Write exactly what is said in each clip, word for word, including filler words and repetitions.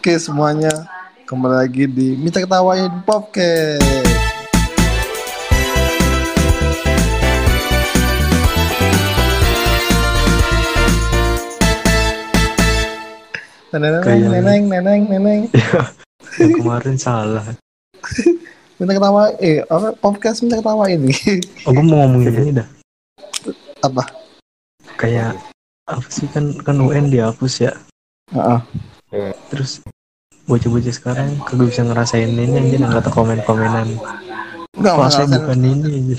Oke semuanya, kembali lagi di Minta Ketawain Podcast. Neneng, Kayak neneng, neneng, neneng. yang kemarin salah. Minta ketawa, eh apa podcast minta ketawa ini? Oh, gue mau ngomongin ini dah. Apa? Kayak apa sih kan kan U N dihapus ya. Heeh. Terus bocah-bocah sekarang kagak bisa ngerasain ini anjir, yang kata komen-komenan. Enggak usah Kelasnya ngerasain. bukan ini anjir.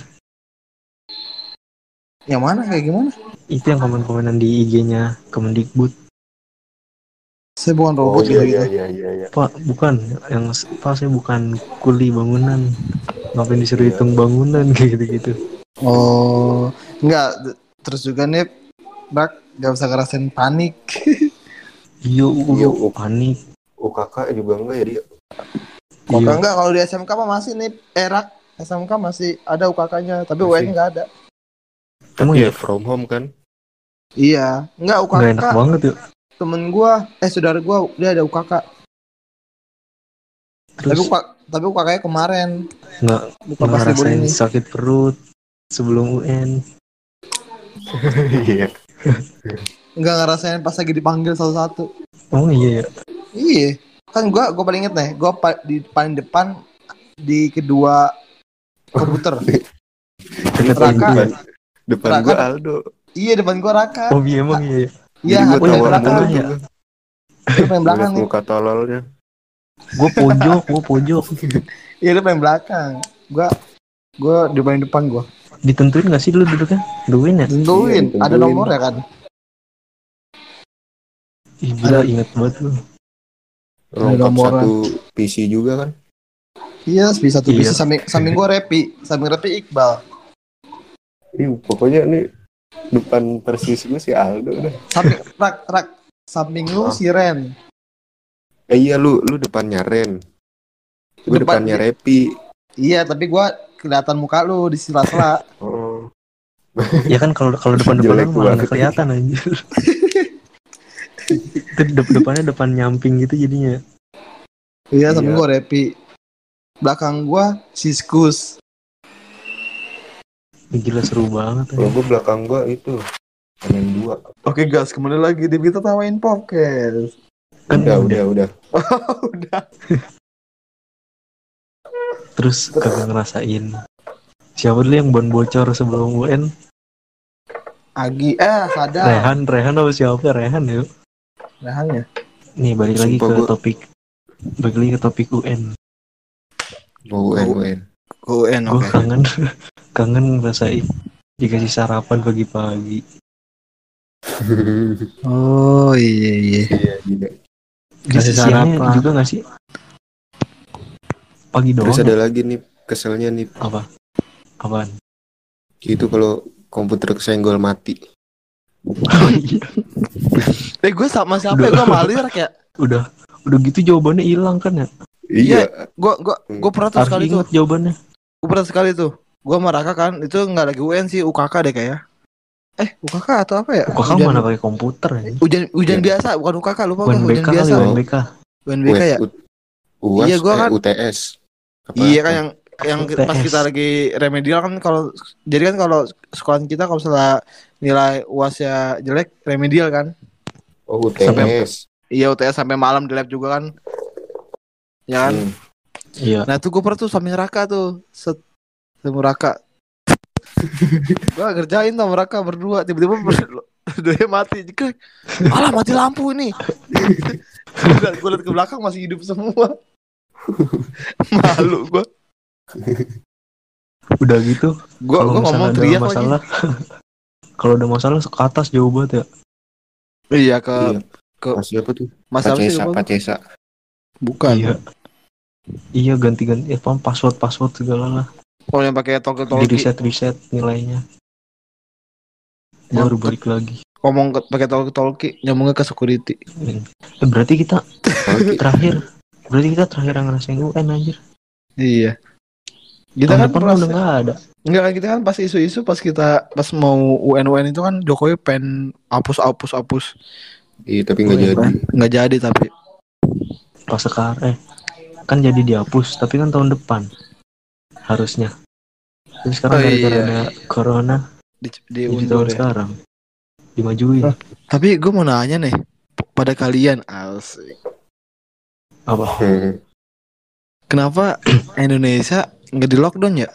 Yang mana kayak gimana? Itu yang komen-komenan di I G-nya Kemendikbud. Saya bukan Oh robot iya gitu iya gitu. iya iya iya. Pak, bukan yang Pak, saya bukan kuli bangunan. Ngapain disuruh Iya. hitung bangunan kayak gitu-gitu. Oh, enggak. Terus juga nih, Bak, gak usah ngerasain panik. Iya, Iya, lu U- panik. U K K juga enggak ya dia? Kok Iya. enggak kalau di S M K mah masih nih, erak S M K masih ada U K K-nya, tapi U N Masih. nggak ada. Emang Tapi ya? ya from home kan? Iya, enggak U K K. Nggak enak banget ya. Temen gua, eh saudara gua dia ada U K K. Tapi Terus U K K, tapi U K K-nya kemarin. nggak Bukan nggak pas libur ngerasain ini. sakit perut sebelum U N. Iya. Enggak ngerasain pas lagi dipanggil satu-satu. Oh iya ya. Iya, kan gua gua paling inget nih, gua pa- di paling depan di kedua komputer. Ingat Raka. itu ya. Depan Raka. gua Aldo. Iya depan gua Raka. Oh iya emang iya. Iya, Jadi gua Raka oh, iya, tawa belakang. mulu ya. tuh. Dia paling belakang Ngeliat nih. muka tololnya. Gue pojok, gue pojok. Iya dia paling belakang. Gua gua di paling depan gua. Ditentuin nggak sih dulu duduknya? Duin ya? Tentuin, Iya, ada ditentuin. nomor ya kan? Ih, gila Ada- inget banget lu. Lengkap nomornya. satu P C juga kan? Iya, bisa satu Iya. bisa samping samping gua Repi, samping Repi Iqbal. Ih, pokoknya nih depan persis gua si Aldo dah. Samping rak rak samping lu Ah. si Ren. Eh iya lu lu depannya Ren. Gua Depan- depannya Repi. Iya, tapi gua kelihatan muka lu di sela-sela. Oh. Ya kan kalau kalau depan-depan Jelek lu malah banget. nggak kelihatan anjir. Itu de- depannya depan nyamping gitu jadinya. Iya, samping Iya. gua Repi. Belakang gua Siskus. Ih, gila seru banget. Kalau anjir. gua belakang gua itu Senin dua. Oke, guys, kembali lagi di Kita Tawain Podcast. Kan Udah, udah. udah, udah. Udah. Terus kagak ngerasain. Siapa dulu yang ban bocor sebelum U N? Agi eh sadar. Rehan, Rehan apa siapa? Rehan ya. Rehan ya. Nih balik lagi Sumpah ke gua- topik. Balik lagi ke topik U N. Oh, U N, U N. U N Gue kangen kangen ngerasain dikasih sarapan pagi-pagi. Oh iya iya. Iya, gila. Kasih siangnya juga nggak sih? Pagi doang. Terus ya? ada lagi nih keselnya nih. Apa? Apaan? Gitu kalau komputer kesenggol mati. Oh, iya. Eh gue sama siapa ya? Gue malir kayak. Udah udah gitu jawabannya hilang kan ya? Iya. Gue gue gue pernah tuh Harus sekali tuh. inget jawabannya. Gue pernah sekali tuh. Gue sama Raka kan itu nggak lagi U N sih, U K K deh kayak. Eh U K K atau apa ya? Kok kan Hujan- mana pakai komputer ya? Hujan hujan Iya. biasa bukan U K K, lupa gue U N B hujan K kali biasa. U N B K. U N B K ya. U- UAS, Iya, gua eh, kan- U T S. Apa- Iya kan apa? yang yang U T S. pas kita lagi remedial kan kalau jadi kan kalau sekolah kita kalau misalnya nilai U A S-nya jelek remedial kan. Oh, U T S. Sampai- Iya U T S sampai malam di lab juga kan. Ya kan. Hmm. Iya. Nah tuh gue pernah tuh samping Raka tuh set sama Raka. Gue kerjain sama Raka berdua tiba-tiba ber- dia mati. Jika, alah mati lampu ini. Gue liat ke belakang masih hidup semua. Malu gue. Udah gitu. Gue Kalau gue misalnya ngomong ada teriak masalah, kalau ada masalah ke atas jauh banget ya. lagi. Iya ke Iya. ke Mas siapa tuh? Mas apa sih Pacesa, lupa gua. Pacesa. Bukan. Iya. Iya ganti-ganti ya, paham password password segala lah. Kalau yang pakai tolki Di tolki reset reset nilainya. Yang Baru ke- balik lagi. ngomong ke- pakai tolki tolki nyambungnya ke security. Eh, berarti kita Oke. terakhir berarti kita terakhir yang ngerasain U N anjir. Iya. Kita Tahun kan depan pernah udah nggak ada. enggak kan kita kan pas isu-isu pas kita pas mau U N U N itu kan Jokowi pengen hapus hapus hapus. Iya, tapi nggak Iya, jadi. kan? Nggak jadi tapi pas sekarang eh kan jadi dihapus tapi kan tahun depan harusnya. Terus sekarang Oh, gara-gara iya. ada corona Di, jadi diundur tahun ya. sekarang dimajuin. Hah? Tapi gue mau nanya nih pada kalian, asik. Apa? Hmm. Kenapa Indonesia nggak di lockdown ya?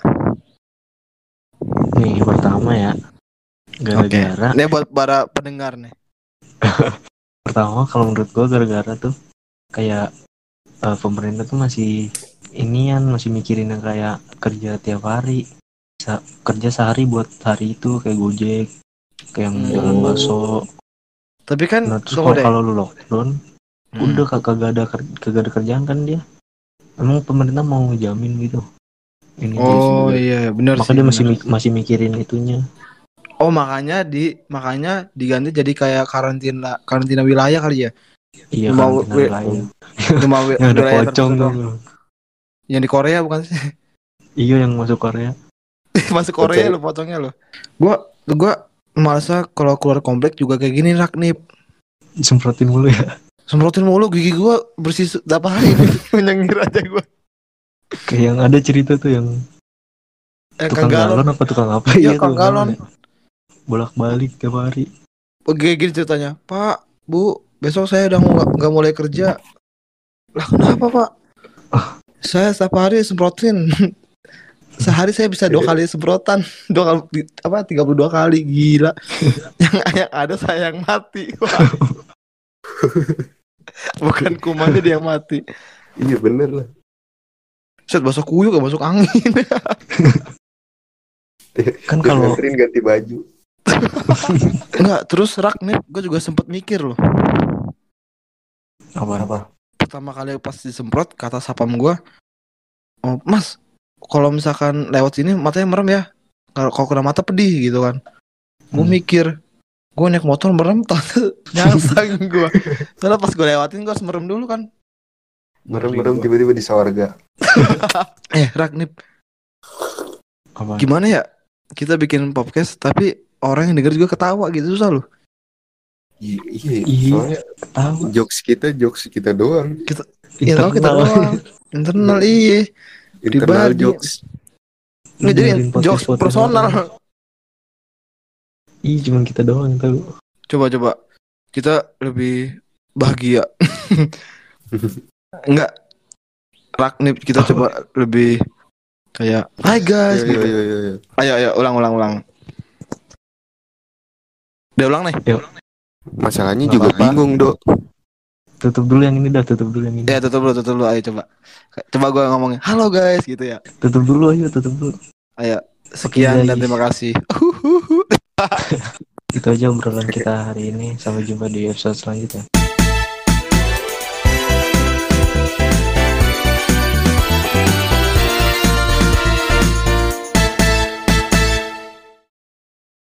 Nih pertama ya gara-gara Ini buat para pendengar nih. pertama kalau menurut gua gara-gara tuh kayak eh, pemerintah tuh masih inian masih mikirin yang kayak kerja tiap hari. Sa- kerja sehari buat hari itu kayak Gojek kayak yang Hmm. jualan bakso. Tapi kan Nah terus tunggu kalau deh. kalau lu lockdown Hmm. udah kag- kagak ada ker- kagak ada kerjaan kan dia. Emang pemerintah mau ngejamin gitu ini dia. Oh iya benar Maka sih. dia masih benar. mik- masih mikirin itunya. Oh makanya di makanya diganti jadi kayak karantina karantina wilayah kali ya. Iya Cuma karantina wi- wilayah Cuma wi- yang ada wilayah pocong tertentu tuh. doang. Yang di Korea bukan sih? Iya yang masuk Korea. Masuk Korea Pocong. lo potongnya lo. Gua gua merasa kalau keluar komplek juga kayak gini Raknip. Disemprotin mulu ya. Semprotin mulu gigi gua bersih tiap hari menyengir aja gua. Kayak yang ada cerita tuh yang Eh, tukang Kang galon galon. apa tukang apa Iya, iya Kang tuh galon. ya. Bolak-balik tiap hari. Kayak gini ceritanya, Pak, Bu, besok saya udah nggak nggak mulai kerja. Lah kenapa Pak? Saya setiap hari semprotin. Sehari saya bisa dua kali semprotan, dua kali apa tiga puluh dua kali gila. yang yang ada saya yang mati. Wah. Bukan kumannya dia yang mati. Iya bener lah. Set masuk kuyuk gak masuk angin. Kan Terus kalau nganterin ganti baju. Enggak, terus rak nih, gue juga sempet mikir loh. apa apa Pertama kali pas disemprot kata sapam gue, oh Mas, kalau misalkan lewat sini matanya merem ya. Kalau kalau kena mata pedih gitu kan. Gue Hmm. mikir, gue naik motor merem, tante nyangsang gue. Soalnya pas gue lewatin gue harus merem dulu kan. Merem-merem tiba-tiba di sorga. Eh Ragnip, apa gimana ya? Kita bikin podcast tapi orang yang denger juga ketawa gitu, susah loh. Iya, iya. Iya. Soalnya tahu jokes kita, jokes kita doang. Ya tahu kita doang. Internal iya. Internal Pribadi. jokes. Nggak jadi Dengerin podcast- jokes podcast personal. orang. Iya cuma kita doang yang tahu. Coba-coba kita lebih bahagia. Enggak. Ragnip kita coba lebih kayak hai guys Iya, gitu. iya, iya, iya. Ayo ayo ulang ulang ulang. Udah ulang nih. Masalahnya Nggak juga apa-apa. bingung, Dok. Tutup dulu yang ini dah, tutup dulu yang ini. Ya tutup dulu tutup dulu ayo coba. Coba gue ngomongin halo guys gitu ya. Tutup dulu ayo, tutup dulu. Ayo sekian Oke, dan guys. terima kasih. Itu aja obrolan kita hari ini. Sampai jumpa di episode selanjutnya.